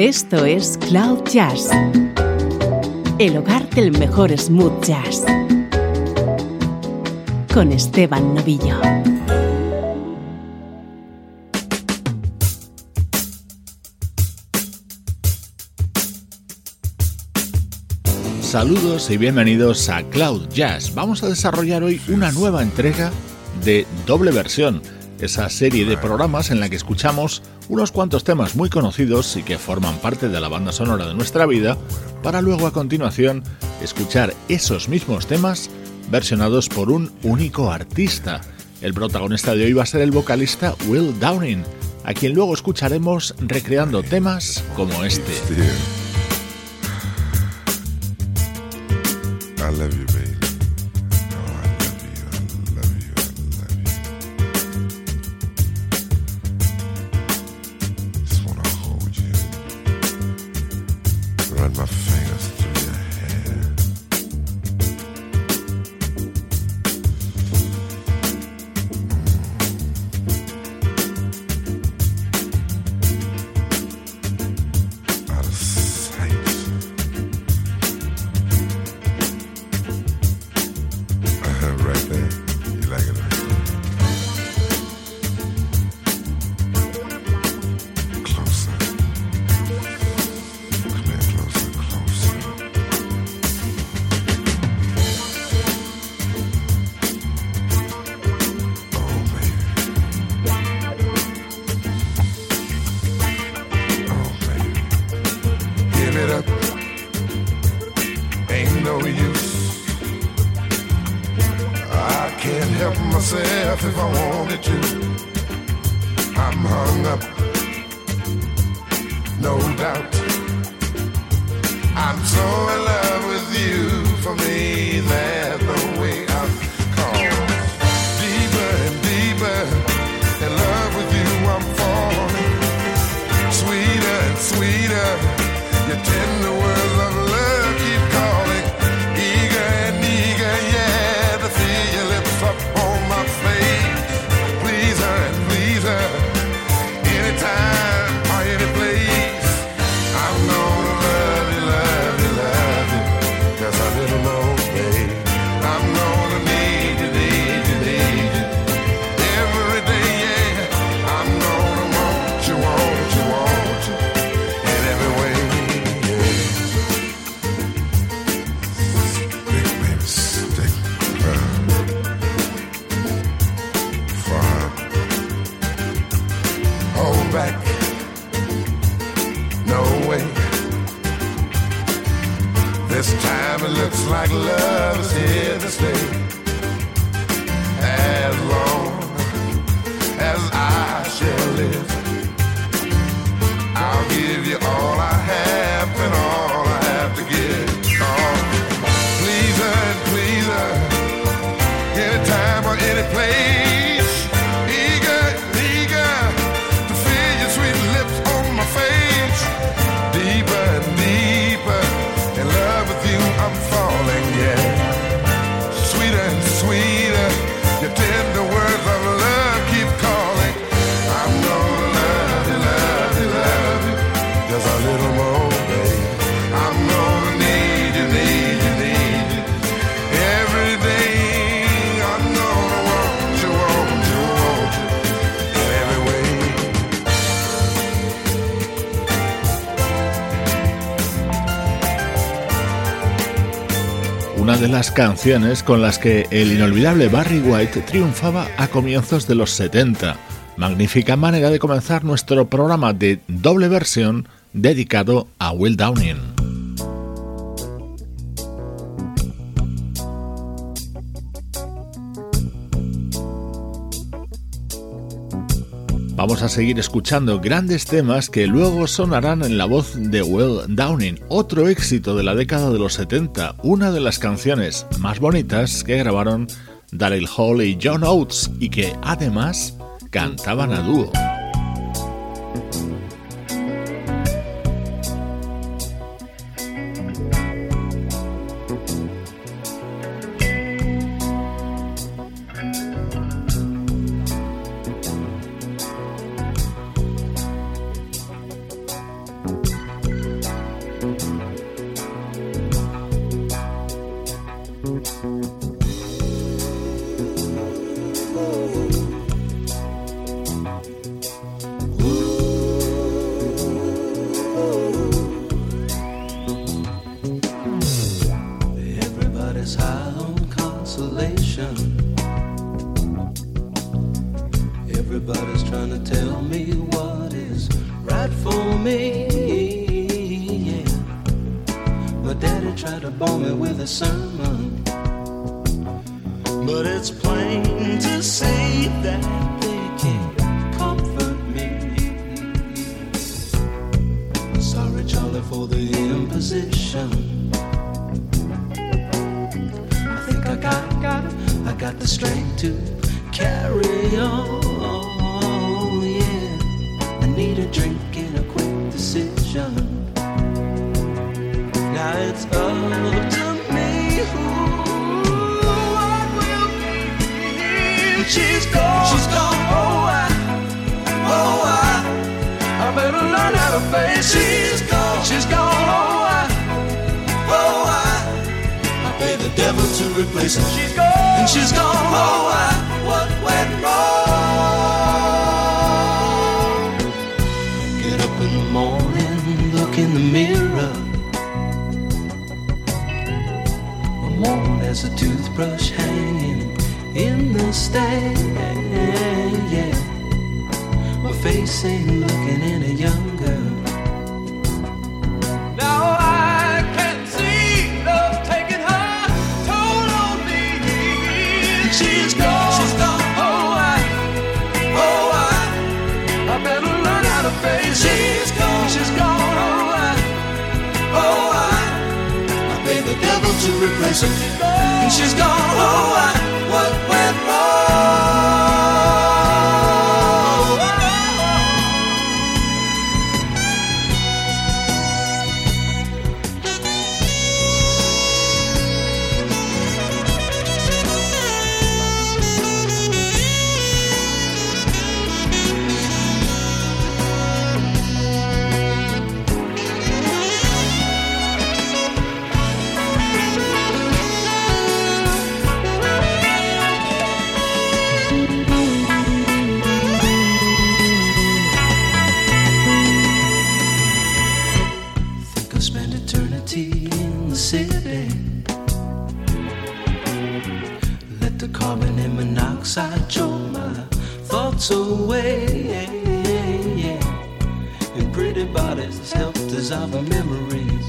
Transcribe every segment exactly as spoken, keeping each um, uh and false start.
Esto es Cloud Jazz, el hogar del mejor smooth jazz, con Esteban Novillo. Saludos y bienvenidos a Cloud Jazz. Vamos a desarrollar hoy una nueva entrega de Doble Versión, esa serie de programas en la que escuchamos unos cuantos temas muy conocidos y que forman parte de la banda sonora de nuestra vida, para luego a continuación escuchar esos mismos temas versionados por un único artista. El protagonista de hoy va a ser el vocalista Will Downing, a quien luego escucharemos recreando temas como este. I love you, baby. Oh, I love you, I love you, I love you. Just wanna hold you, run my fingers through your hair. Mm. Out of sight. Right there. You like it right there. Closer. Come here, closer, closer. Oh, baby. Oh, baby. Give it up. Ain't no use. I can't help myself if I wanted to. I'm hung up, no doubt. I'm so in love with you. For me, there's no way out. Cause deeper and deeper in love with you, I'm falling. Sweeter and sweeter, your tender words of love keep calling. Eager and eager, yeah, to feel your lips up on my face. Please her and please her, anytime or any place. I'm gonna love you, love you, love you, just a little more, babe. I'm gonna need you, need you, need you, every day, yeah. I'm gonna want you, want you, want you, in every way, yeah. Stick, baby, stick, round, far, hold back, no way. This time it looks like love is here to stay. As long as I shall live, I'll give you all I have and all I have to give. Oh, please her and please her, anytime or any place. Eager, eager to feel your sweet lips on my face. Deeper and deeper in love with you, I'm falling, yeah. Sweeter and sweeter, your tender words of love keep calling. I'm gonna love you, love you, love you, just a little more, babe. I'm gonna need you, need you, need you, every day. I'm gonna want you, want you, want you, in every way. Una de las canciones con las que el inolvidable Barry White triunfaba a comienzos de los setenta. Magnífica manera de comenzar nuestro programa de Doble Versión dedicado a Will Downing. Vamos a seguir escuchando grandes temas que luego sonarán en la voz de Will Downing, otro éxito de la década de los setenta, una de las canciones más bonitas que grabaron Daryl Hall y John Oates y que además cantaban a dúo. Everybody's trying to tell me what is right for me, yeah. My daddy tried to bore me with a sermon, but it's plain to see that they can't comfort me. Sorry, Charlie, for the imposition. I think I got, got, I got the strength to carry on, yeah. I need a drink and a quick decision. Now it's up to me who I will be. She's gone, she's gone, oh I, oh I, I better learn how to face. She's gone, she's gone, oh I, oh I, I pay the devil to replace her. She's gone, and she's gone, oh I, what went wrong? Get up in the morning, look in the mirror. Worn as a toothbrush hanging in the stand, yeah. My face ain't looking any younger. Now I can see love taking her toll on me. She's gone, she's gone, oh I, oh I, I better learn how to face. She's gone, she's gone, oh I, oh I, the devil to replace her. And she's gone, oh, I, what went monoxide choke my thoughts away, yeah. In pretty bodies helped dissolve our memories.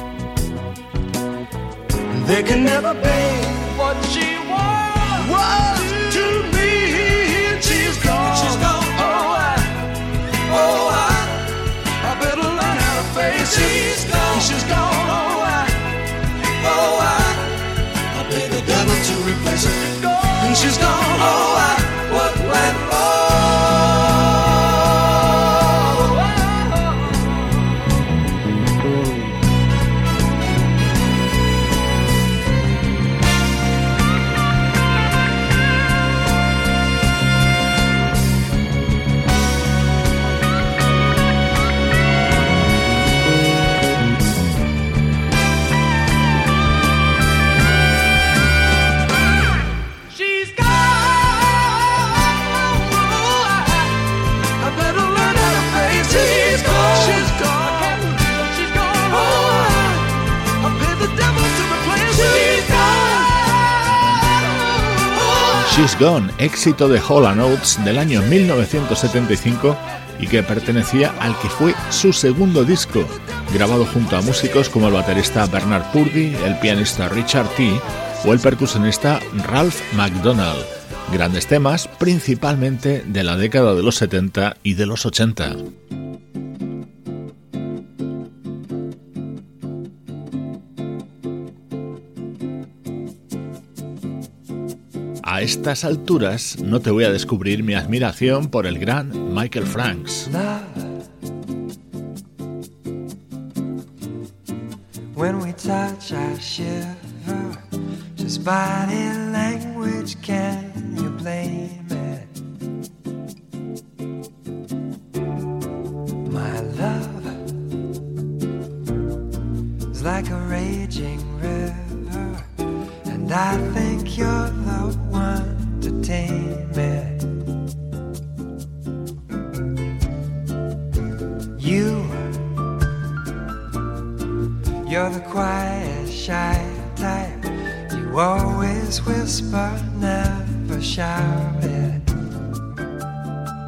They can never be what she was, was to me. She's gone, she's gone, oh I, oh I, I better learn how to face it. She's gone, she's gone, oh I, oh I, I pay the devil to replace her. And she's gone, oh, I, what went She's Gone, éxito de Hall and Oates del año mil novecientos setenta y cinco y que pertenecía al que fue su segundo disco, grabado junto a músicos como el baterista Bernard Purdie, el pianista Richard Tee o el percusionista Ralph McDonald. Grandes temas, principalmente de la década de los setenta y de los ochenta. A estas alturas no te voy a descubrir mi admiración por el gran Michael Franks. When we touch, I shiver. Just body language, can you blame it? My love is like a raging river, and I think you're the one to tame it. You, you're the quiet, shy type. You always whisper, never shout it.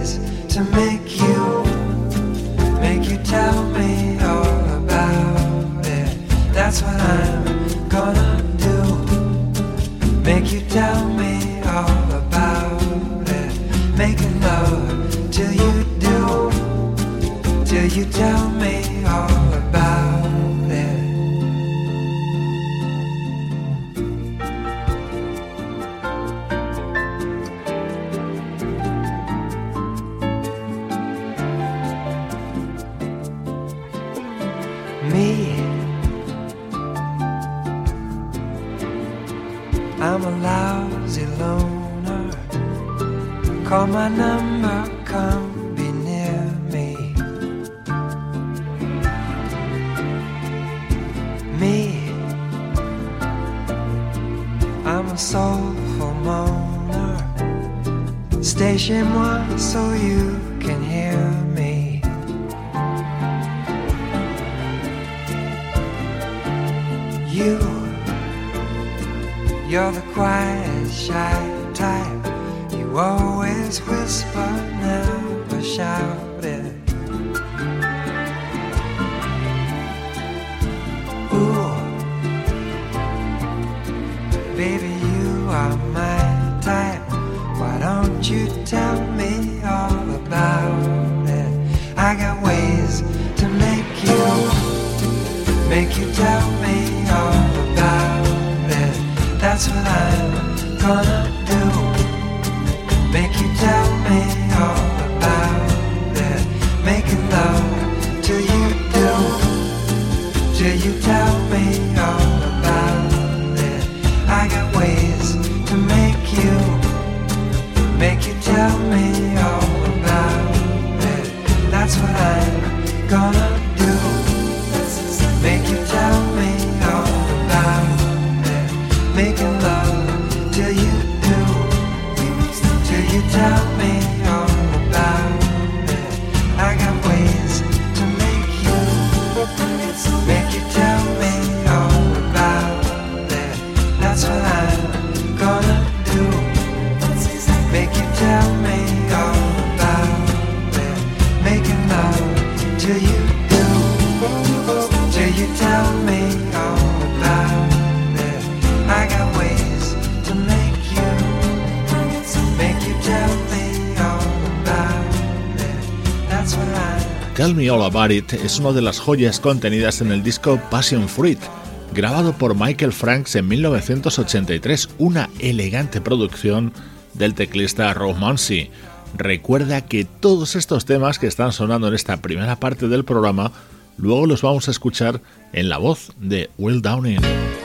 ways to make you, make you tell me all about it. That's what I'm gonna do. Make you tell me all about it. Making love till you do, till you tell me all about it. Me, I'm a lousy loner. Call my number, come be near me. Me, I'm a soulful moaner. Stay chez moi so you can hear me. You, you're the quiet, shy type. You always whisper, never shout it. Ooh, baby, you are my type. Why don't you tell me all about it? I got ways to make you, make you tell me all about it. That's what I'm gonna do. Make you tell me all about it. Making love till you do, till you tell me all about it. I got ways to make you, make you tell me all about it. That's what I'm gonna do. Make you tell me all about it. Making love till you do, till you tell me all about it. I got ways to make you, make you tell me all about it. That's what I'm gonna do. Make you tell me all about it. Making love till you do, till you tell me all about it. I got ways to make you, make you tell me all about it. That's what I... Tell Me All About It es una de las joyas contenidas en el disco Passion Fruit, grabado por Michael Franks en mil novecientos ochenta y tres, una elegante producción del teclista Rob Munsey. Recuerda que todos estos temas que están sonando en esta primera parte del programa luego los vamos a escuchar en la voz de Will Downing.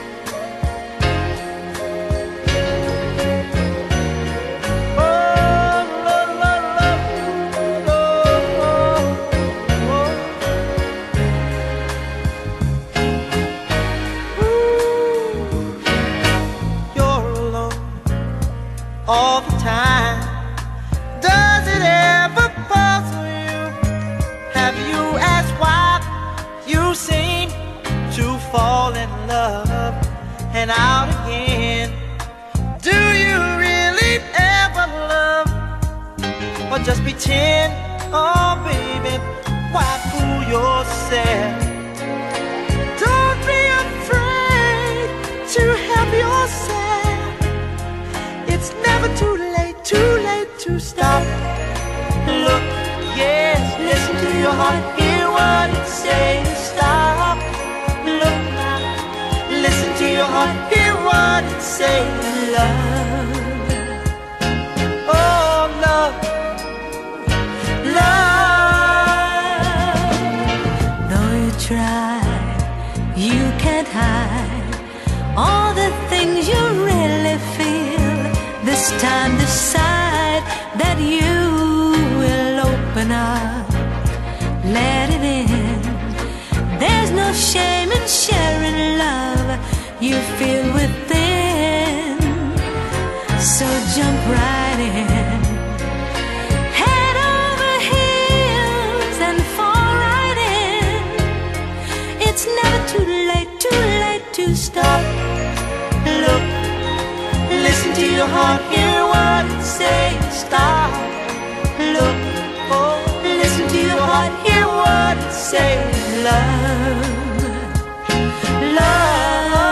You're alone all the time. Does it ever puzzle you? Have you asked why you seem to fall in love and out again? Do you really ever love, or just pretend? Oh baby, why fool yourself? Don't be afraid to help yourself. It's never too late, too late to stop. Look, yes, listen to your heart, hear what it says. Stop, look now, listen to your heart, hear what it says. Love, oh love, love. Though you try, you can't hide all the things you really feel. This time decide that you will open up, let it in. There's no shame in sharing love you feel within. So jump right in, head over heels and fall right in. It's never too late, too late to stop. Look, listen to your heart, hear what it says. Stop, look, say love, love.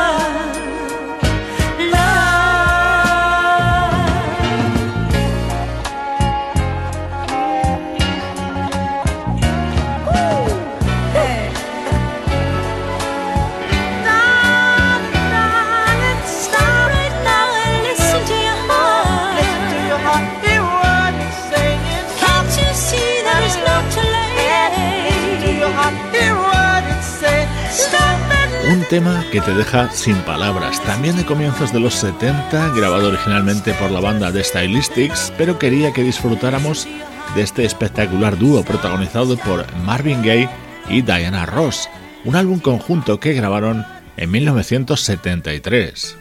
Un tema que te deja sin palabras, también de comienzos de los setenta, grabado originalmente por la banda The Stylistics, pero quería que disfrutáramos de este espectacular dúo protagonizado por Marvin Gaye y Diana Ross, un álbum conjunto que grabaron en mil novecientos setenta y tres.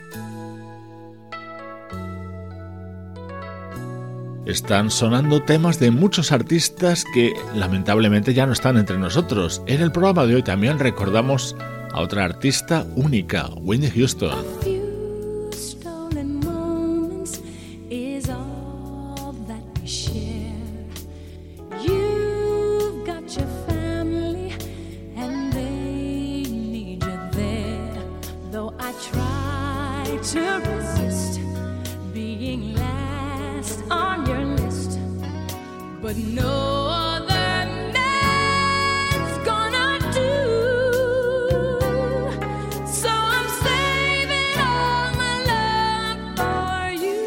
Están sonando temas de muchos artistas que lamentablemente ya no están entre nosotros. En el programa de hoy también recordamos a otra artista única, Whitney Houston. But no other man's gonna do. So I'm saving all my love for you.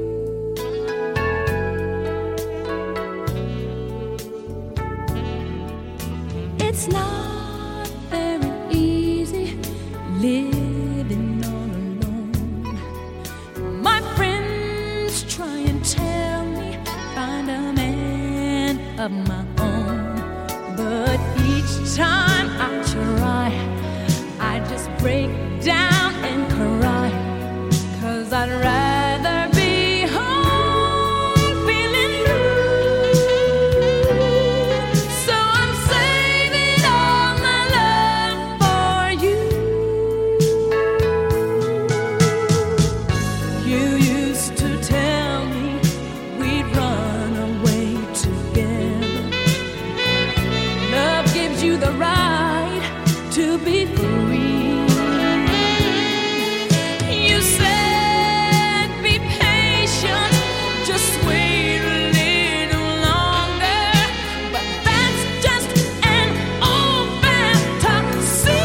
It's not very easy living all alone. My friends try and tell me find a man of my own, but each time I try, I just break down and cry, 'cause I'd rather be home feeling blue. So I'm saving all my love for you. You used to tell me we'd run away together. Love gives you the right to be free. You said be patient, just wait a little longer, but that's just an old fantasy.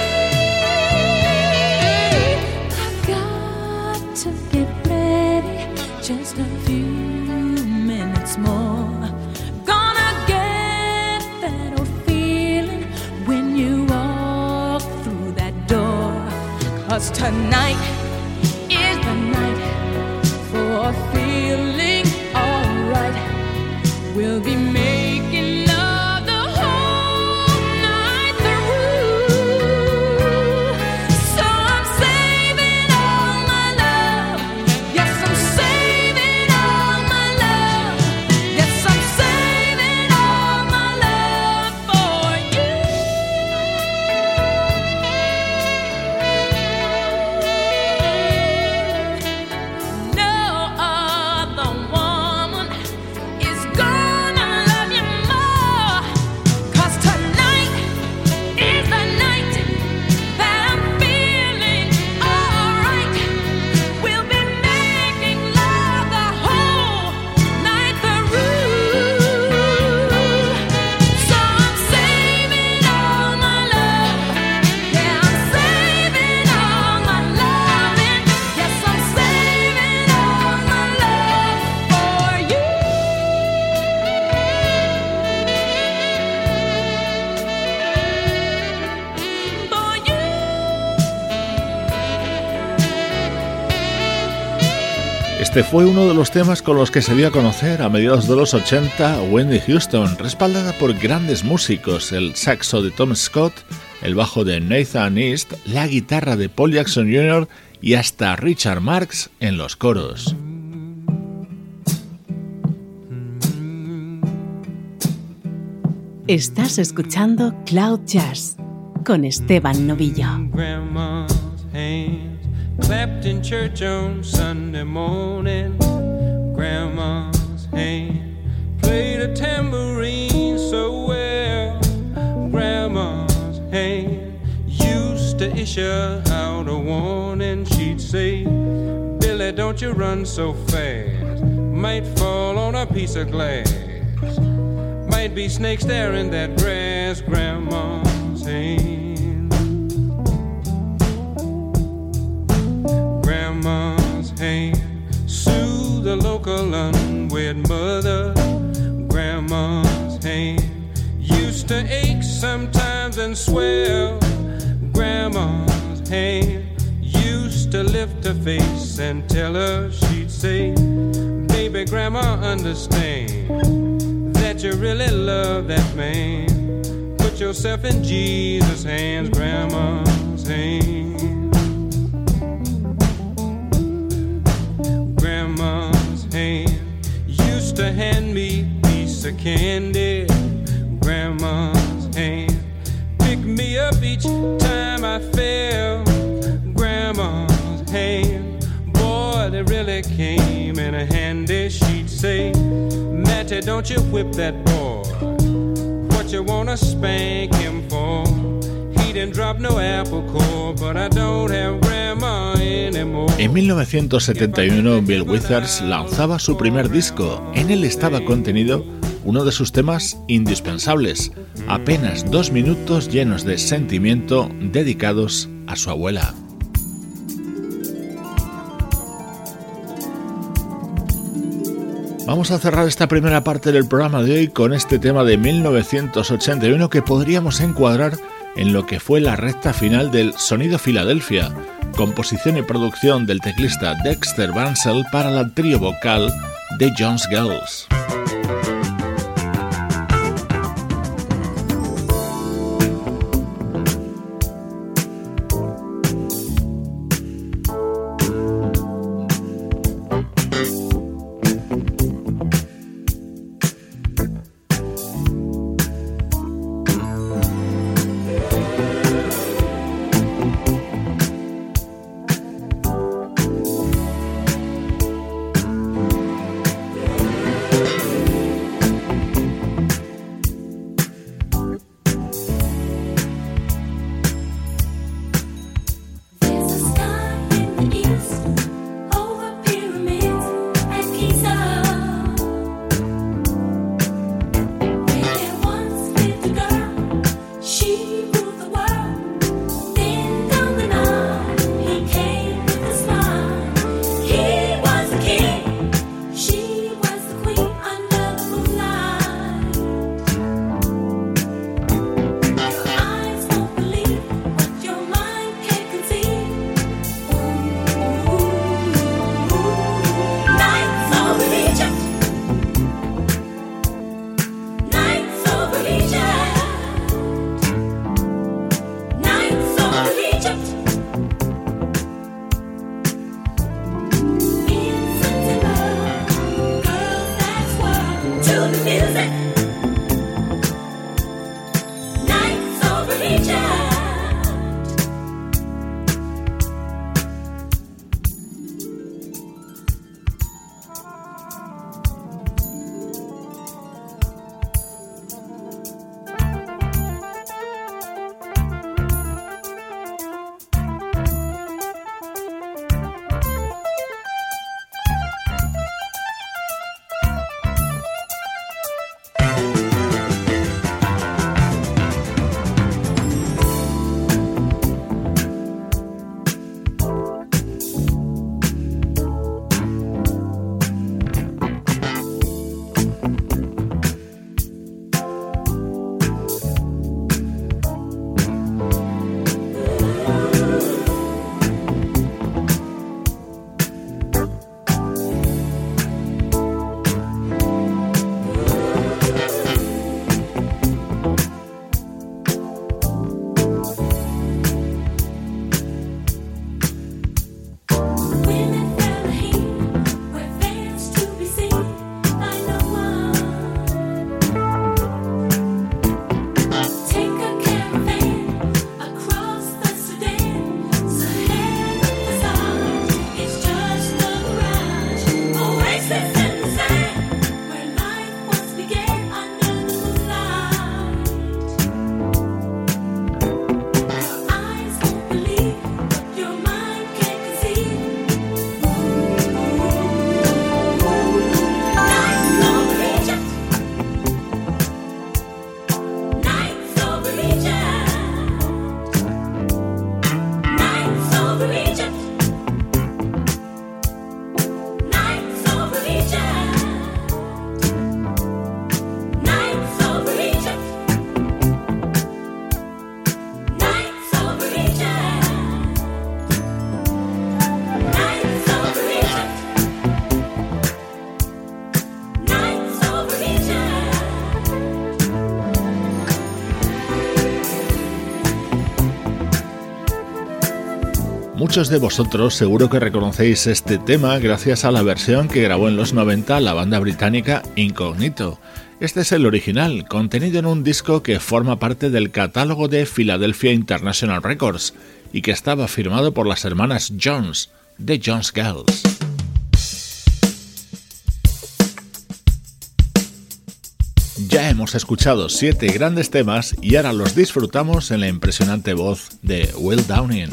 I've got to get ready, just a few minutes more. Gonna get that old feeling when you walk through that door. 'Cause tonight is the night for feeling alright. We'll be making love the whole night through. So I'm saving all my love. Yes, I'm saving all my love. Yes, I'm saving all my love for you. No other woman is gonna love you more. 'Cause tonight is the night that I'm feeling alright. We'll be making love the whole night through. So I'm saving all my love. Yeah, I'm saving all my loving. Yes, I'm saving all my love for you. For you. Este fue uno de los temas con los que se dio a conocer a mediados de los ochenta a Whitney Houston, respaldada por grandes músicos, el saxo de Tom Scott, el bajo de Nathan East, la guitarra de Paul Jackson junior y hasta Richard Marx en los coros. Estás escuchando Cloud Jazz con Esteban Novillo. Grandma's hands clapped in church on Sunday morning. Grandma's hand played a tambourine so well. Grandma dish her out a warning, she'd say, Billy, don't you run so fast. Might fall on a piece of glass. Might be snakes there in that grass, Grandma's hand. Grandma's hand soothe the local unwed mother. Grandma's hand used to ache sometimes and swell. Grandma's hand used to lift her face and tell her, she'd say, baby, Grandma, understand that you really love that man. Put yourself in Jesus' hands, Grandma's hand. Grandma's hand used to hand me a piece of candy. Grandma's hand pick me up each time I fell. Grandma's hand, boy, they really came in a handy. She'd say, Matty, don't you whip that boy. What you wanna spank him for? He didn't drop no apple core, but I don't have grandma anymore. En mil novecientos setenta y uno, Bill Withers lanzaba su primer disco. En él estaba contenido uno de sus temas indispensables, apenas dos minutos llenos de sentimiento dedicados a su abuela. Vamos a cerrar esta primera parte del programa de hoy con este tema de mil novecientos ochenta y uno que podríamos encuadrar en lo que fue la recta final del Sonido Filadelfia, composición y producción del teclista Dexter Bansell para la trío vocal de Jones Girls. Muchos de vosotros seguro que reconocéis este tema gracias a la versión que grabó en los noventa la banda británica Incognito. Este es el original, contenido en un disco que forma parte del catálogo de Philadelphia International Records y que estaba firmado por las hermanas Jones, de Jones Girls. Ya hemos escuchado siete grandes temas y ahora los disfrutamos en la impresionante voz de Will Downing.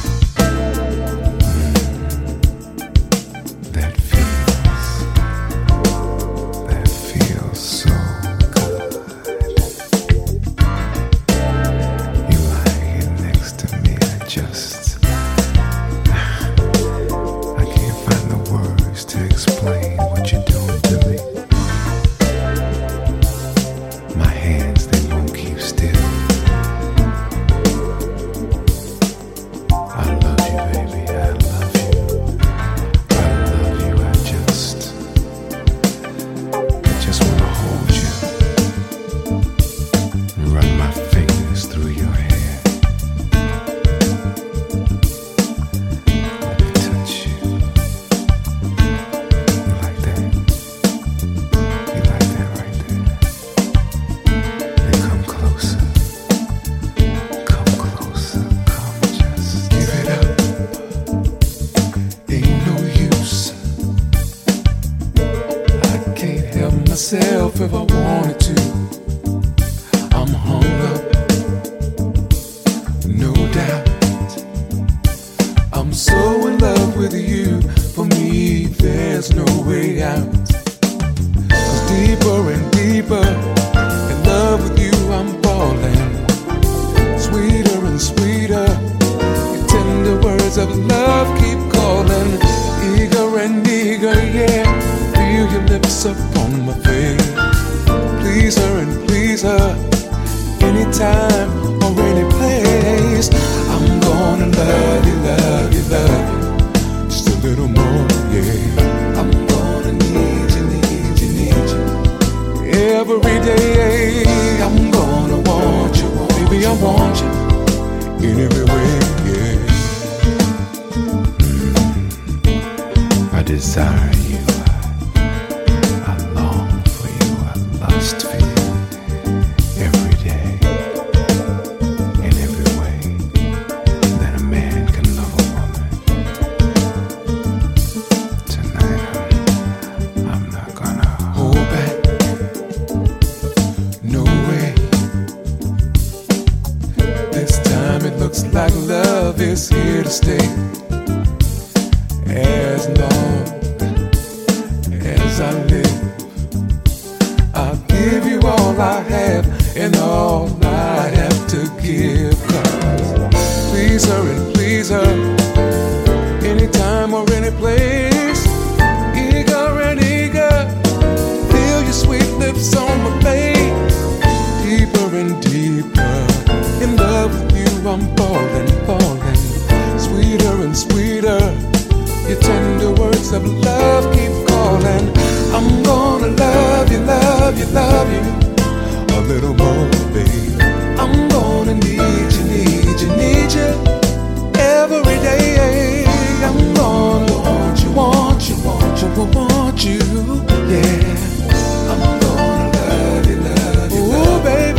If I wanted to, I'm hung up, no doubt. I'm so in love with you, for me there's no way out. 'Cause deeper and deeper in love with you I'm falling. Sweeter and sweeter, your tender words of love keep calling. Eager and eager, yeah, feel your lips upon my face. Please her and please her, anytime or any place. I'm gonna love you, love you, love you, just a little more, yeah. I'm gonna need you, need you, need you every day. I'm gonna want you, baby, I want you in every way, yeah. Mm. I desire you. Like love is here to stay. As long as I live, I'll give you all I have and all I have to give. 'Cause please her and please her, anytime or any place. Eager and eager, feel your sweet lips on my face. Deeper and deeper in love with you I'm falling, falling. Sweeter and sweeter, your tender words of love keep calling. I'm gonna love you, love you, love you a little more, babe. I'm gonna need you, need you, need you every day. I'm gonna want you, want you, want you, want you, yeah. I'm gonna love you, love you, love you. Ooh, baby.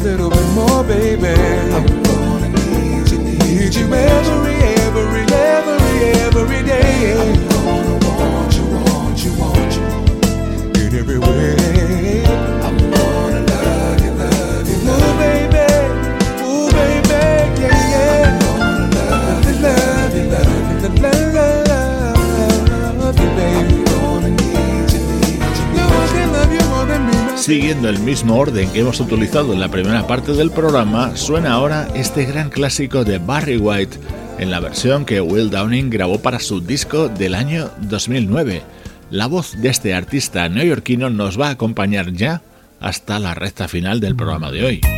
little bit more, baby. I'm gonna need you, need you every, every, every, every day. I'm gonna want you, want you, want you in every way. I'm gonna love you, love you, love you, baby. Ooh, baby, yeah, yeah. I'm gonna love you, love you, love you, love you, love you, baby. I'm gonna need you, need you, love you, love you more than me. Siguiendo el mismo orden que hemos utilizado en la primera parte del programa, suena ahora este gran clásico de Barry White en la versión que Will Downing grabó para su disco del año dos mil nueve. La voz de este artista neoyorquino nos va a acompañar ya hasta la recta final del programa de hoy.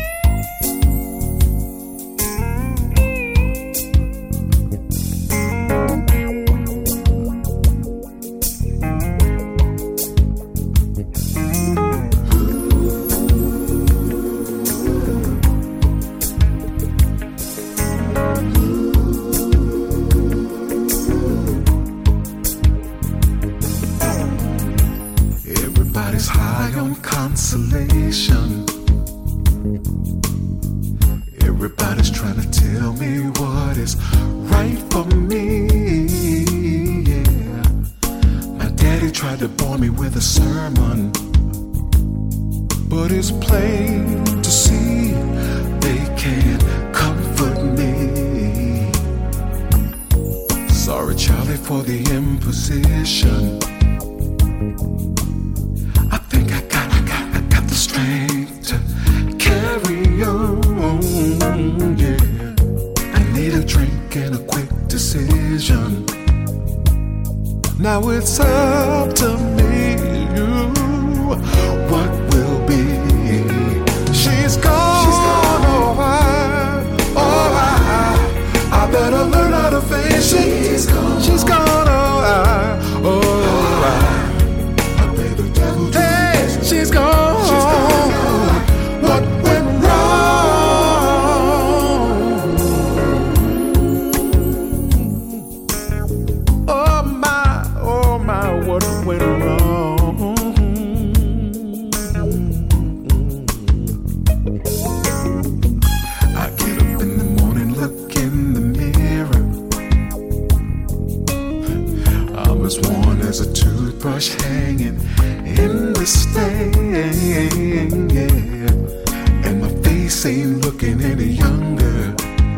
Now it's up to me, you, what will be. She's gone, She's gone. oh I, oh I, I better learn how to face it. She's gone, She's gone, oh I, oh I, I pray the devil to hey, she's gone, she's gone, oh, what went wrong? Oh my, oh my, what went wrong? I get up in the morning, look in the mirror. I'm as worn as a toothbrush hanging in the stand, yeah. And my face ain't looking any younger.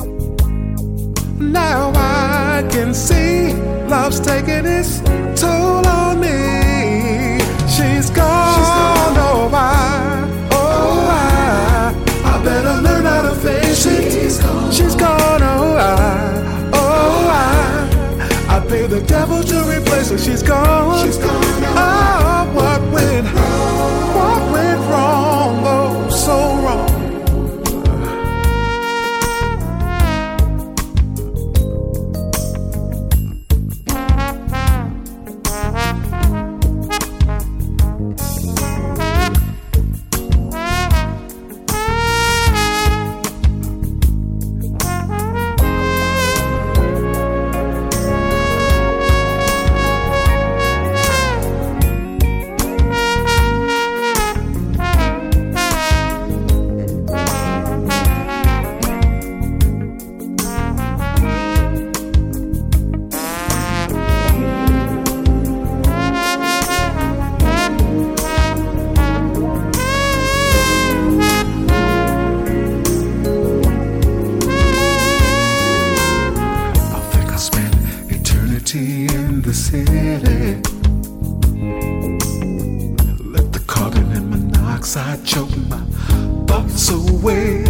Now I can see love's taking its toll on me. She's gone, She's gone. oh I, oh I, I better learn how to face it. She's gone, She's gone, oh I, oh I, I pay the devil to replace her. She's gone, She's gone, oh, oh what went wrong? What went wrong? Oh, so wrong. In the city, let the carbon and monoxide choke my thoughts away,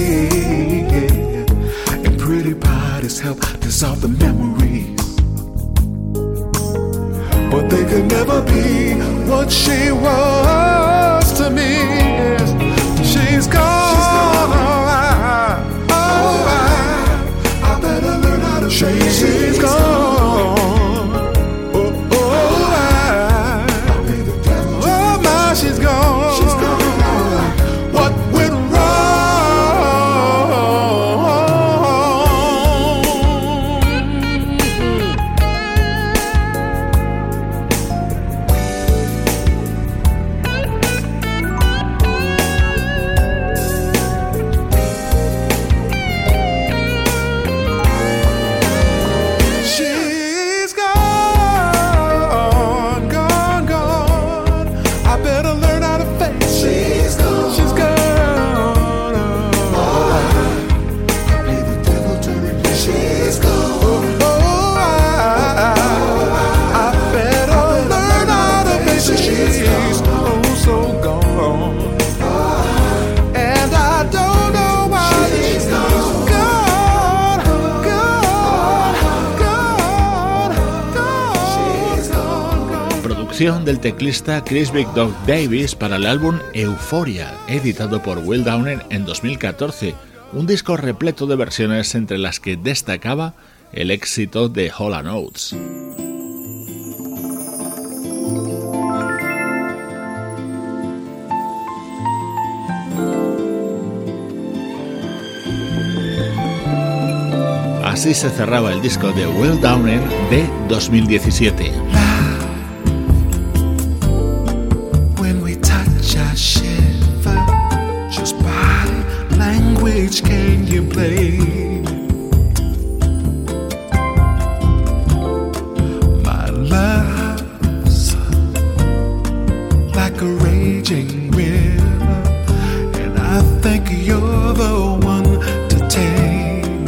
and pretty bodies help dissolve the memories, but they could never be what she was to me. She's gone, She's gone. oh I, oh I, I better learn how to face it. She's gone. She's gone. She's gone. What went wrong? producción del teclista Chris Big Dog Davis para el álbum Euphoria, editado por Will Downer en dos mil catorce, un disco repleto de versiones entre las que destacaba el éxito de Hall and Oates. Así se cerraba el disco de Will Downer de dos mil diecisiete. When we touch, I shiver. Just by language can you play? My love's like a raging river, and I think you're the one to take.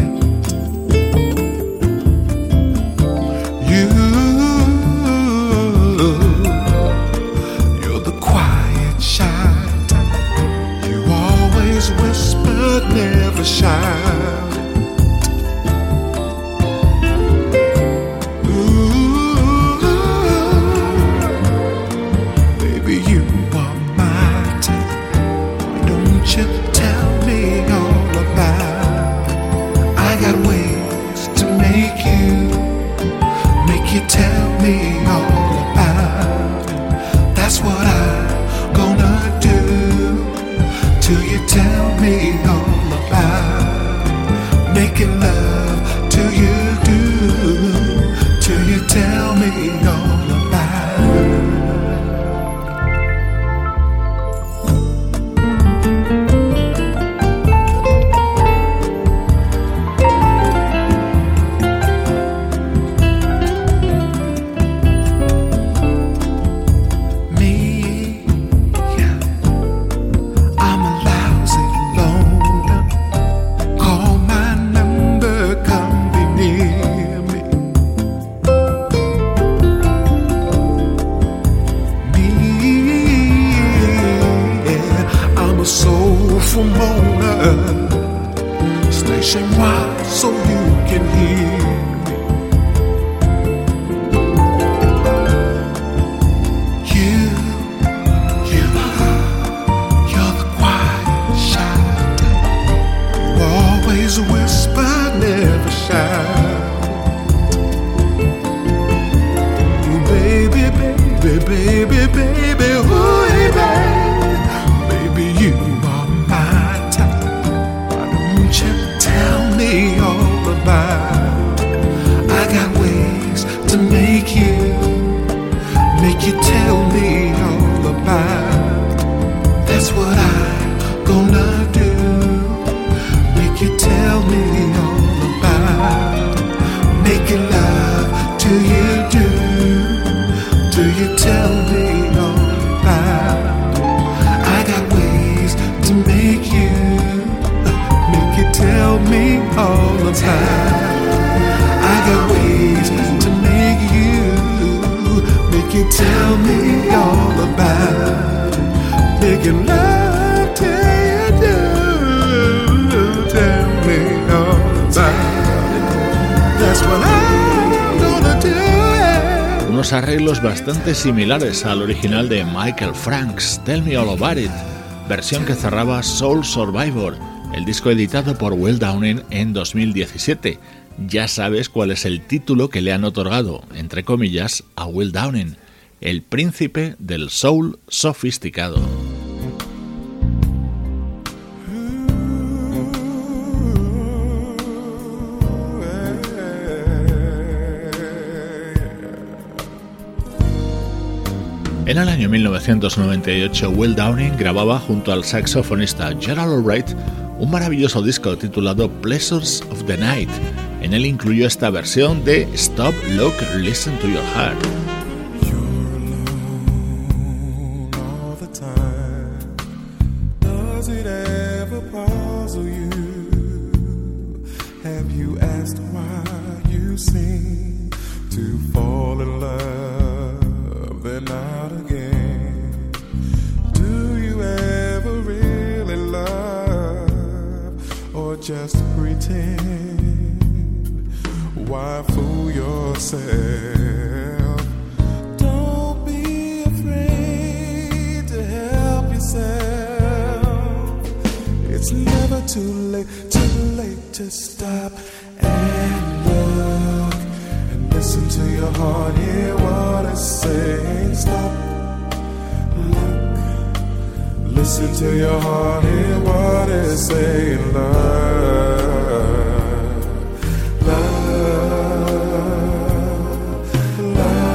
Never shout. Ooh, baby, you are my type. Why don't you tell me all about it? I got ways to make you, make you tell me all about it. That's what I'm gonna do till you tell me all about making love till you do, till you tell me all about. Me, yeah, I'm a lousy loner. Call my number, come be near me. Me, yeah, I'm a soulful moaner. Station wide so you can hear me. You, you, you're the quiet, shy type. You always whisper, never shout. Ooh, baby, baby, baby, baby, ooh, baby, baby, you are my type. Why don't you tell me all about? I got ways to make you, make you tell me all about. That's what I'm gonna do. Make you tell me all about making love till you do, till you tell me all about. I got ways to make you, make you tell me all about. I got ways to make you, make you tell me all about making love till you do, tell me all about it. That's what I'm gonna do. Unos arreglos bastante similares al original de Michael Franks, Tell Me All About It, versión que cerraba Soul Survivor, el disco editado por Will Downer en dos mil diecisiete. Ya sabes cuál es el título que le han otorgado, entre comillas, a Will Downer, el príncipe del soul sofisticado. En el año mil novecientos noventa y ocho, Will Downer grababa junto al saxofonista Gerald Albright un maravilloso disco titulado Pleasures of the Night. En él incluyó esta versión de Stop, Look, Listen to Your Heart. Just pretend. Why fool yourself? Don't be too late, too late to stop and look and listen to your heart, hear what it's saying. Stop, look, listen to your heart, hear what it's saying. Love, love, love.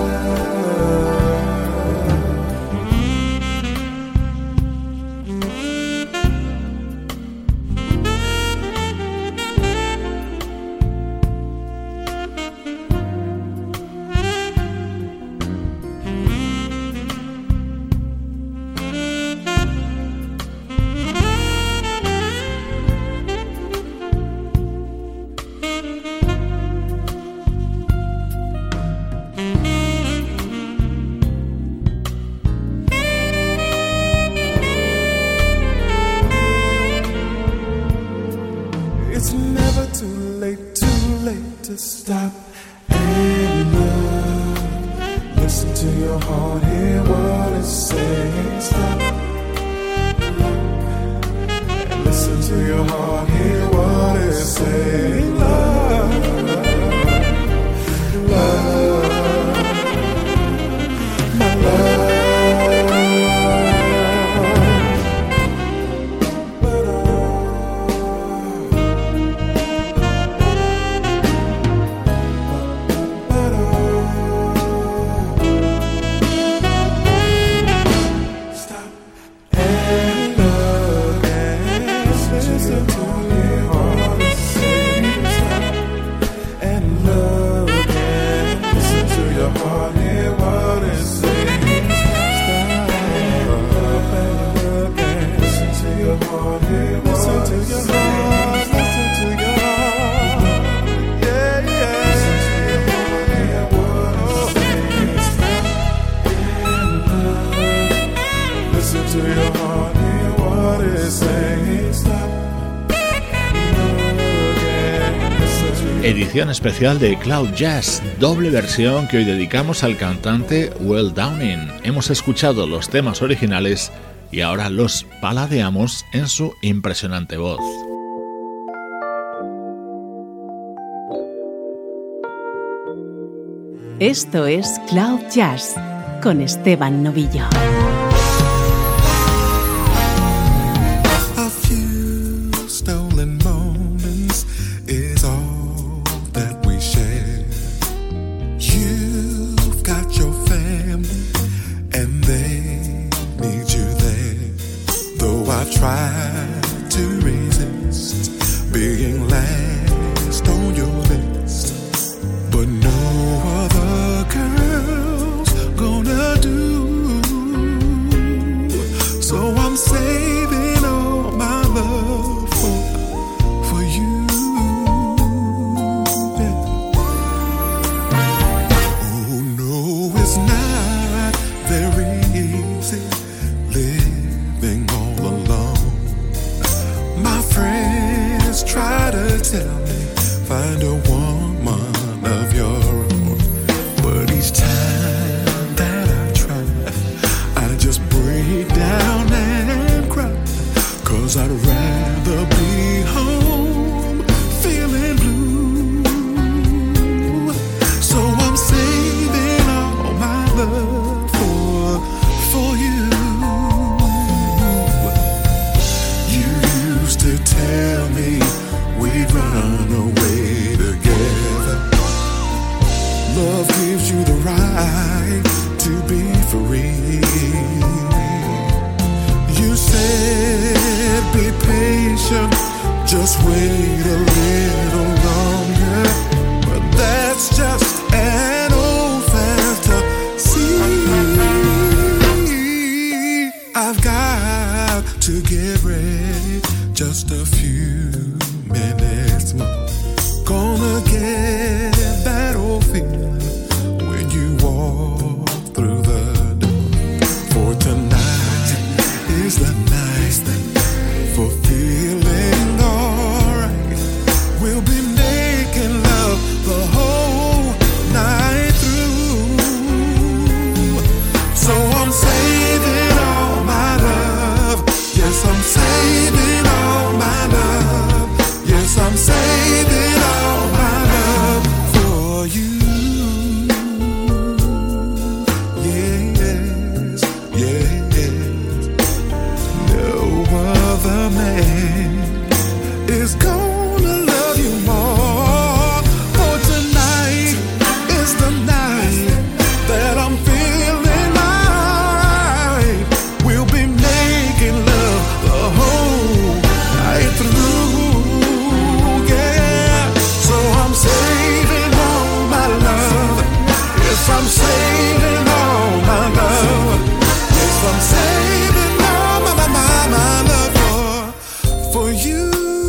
It's never too late, too late to stop and look. Listen to your heart, hear what it's saying. Stop, look, and listen to your heart, hear what it's saying. Love, love, my love. Edición especial de Cloud Jazz, doble versión que hoy dedicamos al cantante Will Downing. Hemos escuchado los temas originales y ahora los paladeamos en su impresionante voz. Esto es Cloud Jazz con Esteban Novillo. A few stolen moments is all that we share. You've got your family and they need you there. Though I've tried to resist being last on your list, but no other girl's gonna do. So I'm saving all my love for, for you. Yeah. Oh no, it's not very easy living all alone. My friends try to tell me find a woman of your own, but each time that I try, I just break down and cry, 'cause I'd rather be home feeling blue. So I'm saving all my love for, for you. You used to tell me we'd run away together. Love gives you the right to be free. You said be patient, just wait a little longer, but that's just an old fantasy. I've got to get ready, just a few minutes more. Gonna get that old feeling when you walk through the door. For tonight is the night for feeling alright. We'll be making love the whole night through. So I'm saving all my love. Yes, I'm saving all my a man is gonna love you more. For tonight is the night that I'm feeling right. We'll be making love the whole night through, yeah. So I'm saving all my love. Yes, I'm saving all my love. Yes, I'm saving all my, my, my, my love for, for you.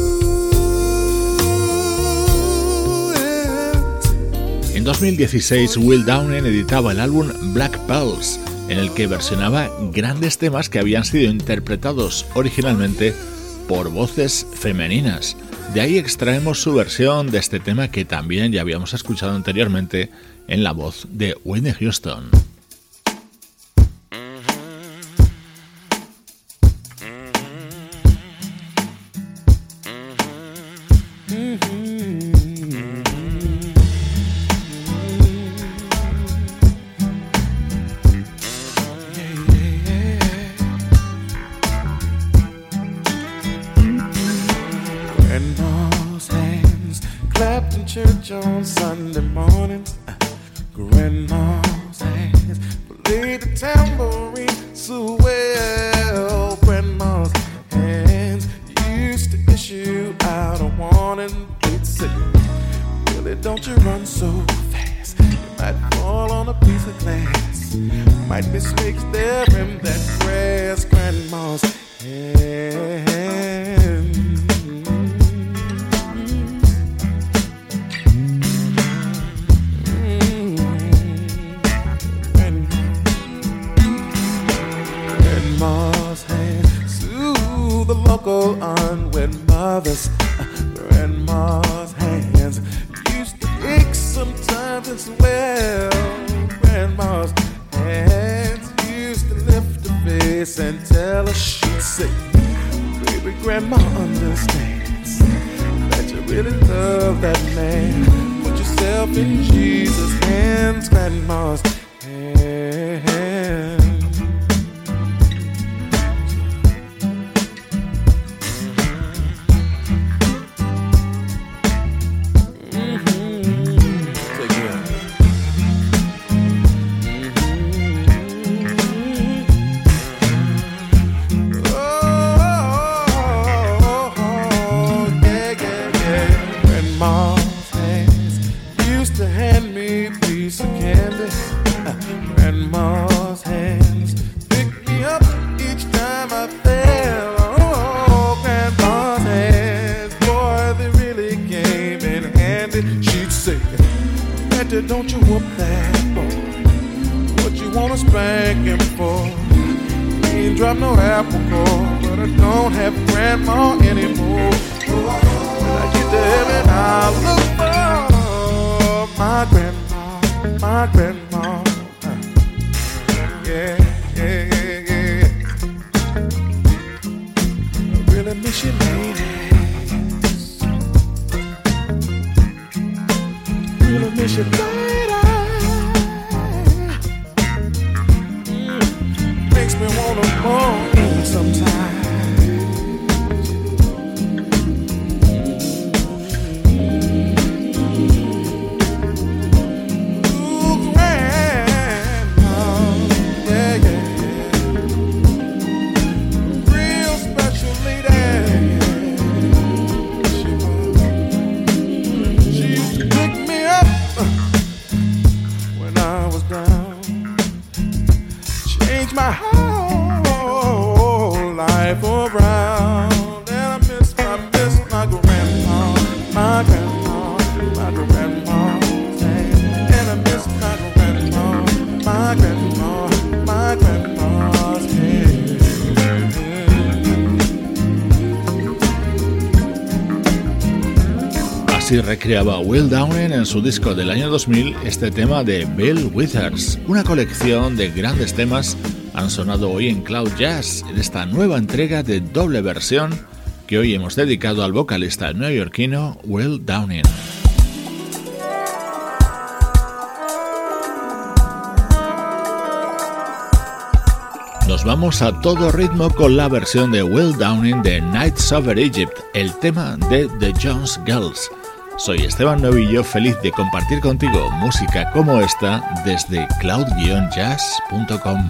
En dos mil dieciséis, Will Downing editaba el álbum Black Pearls, en el que versionaba grandes temas que habían sido interpretados originalmente por voces femeninas. De ahí extraemos su versión de este tema que también ya habíamos escuchado anteriormente en la voz de Whitney Houston. Church on Sunday morning, Grandma's hands played the tambourine so well. Grandma's hands used to issue out a warning. They'd say, "Billy, don't you run so fast. You might fall on a piece of glass. Might be snakes there in that grass." Grandma's hands. Local unwed mothers, Grandma's hands used to ache sometimes as well. Grandma's hands used to lift her face and tell her, she'd say, "Baby, Grandma understands that you really love that man. Put yourself in Jesus' hands." Grandma's hands. Don't you whoop that boy? What you wanna spank him for? He ain't dropped no apple core, but I don't have Grandma anymore. When I get to heaven, I'll look for my grandma, my grandma. Yeah, yeah, yeah, yeah. I really miss you, ladies. Really miss you, ladies. Me wanna moan sometimes. Ooh, Grandma, yeah, yeah, real special lady. She was. She used to pick me up when I was down. Change my heart around, and I miss, I miss my grandma, my grandma, my grandma, and I miss my grandma, my grandma, my grandma's hand. Así recreaba Will Downing en su disco del año dos mil este tema de Bill Withers. Una colección de grandes temas han sonado hoy en Cloud Jazz, en esta nueva entrega de doble versión que hoy hemos dedicado al vocalista neoyorquino Will Downing. Nos vamos a todo ritmo con la versión de Will Downing de Nights Over Egypt, el tema de The Jones Girls. Soy Esteban Novillo, feliz de compartir contigo música como esta desde cloud jazz punto com.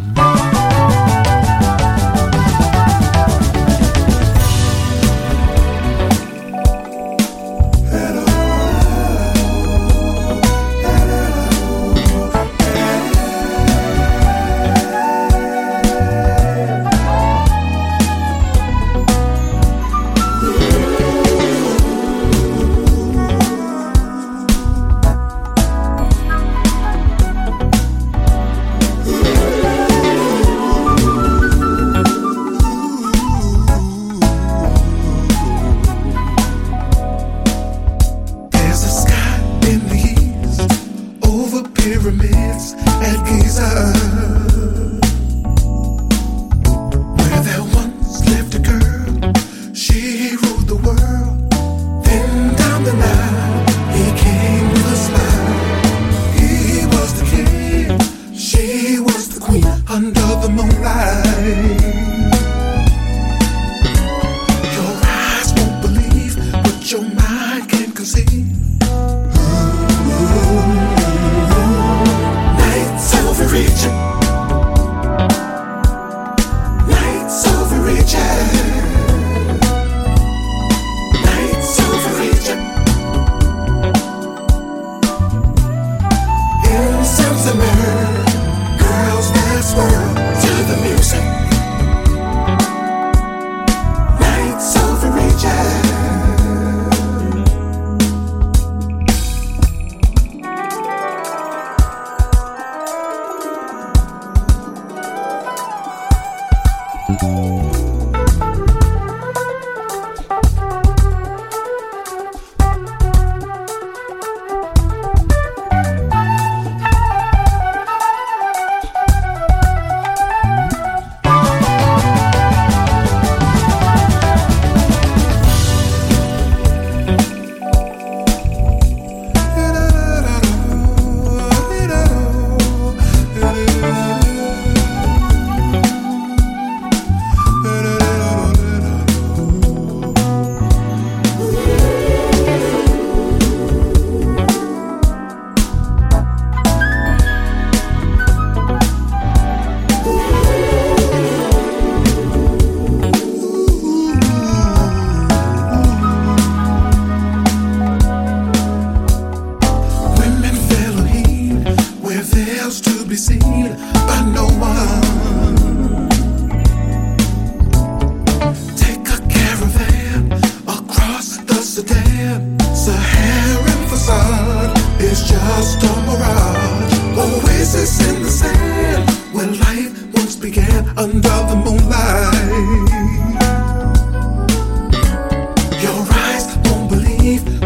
Your eyes won't believe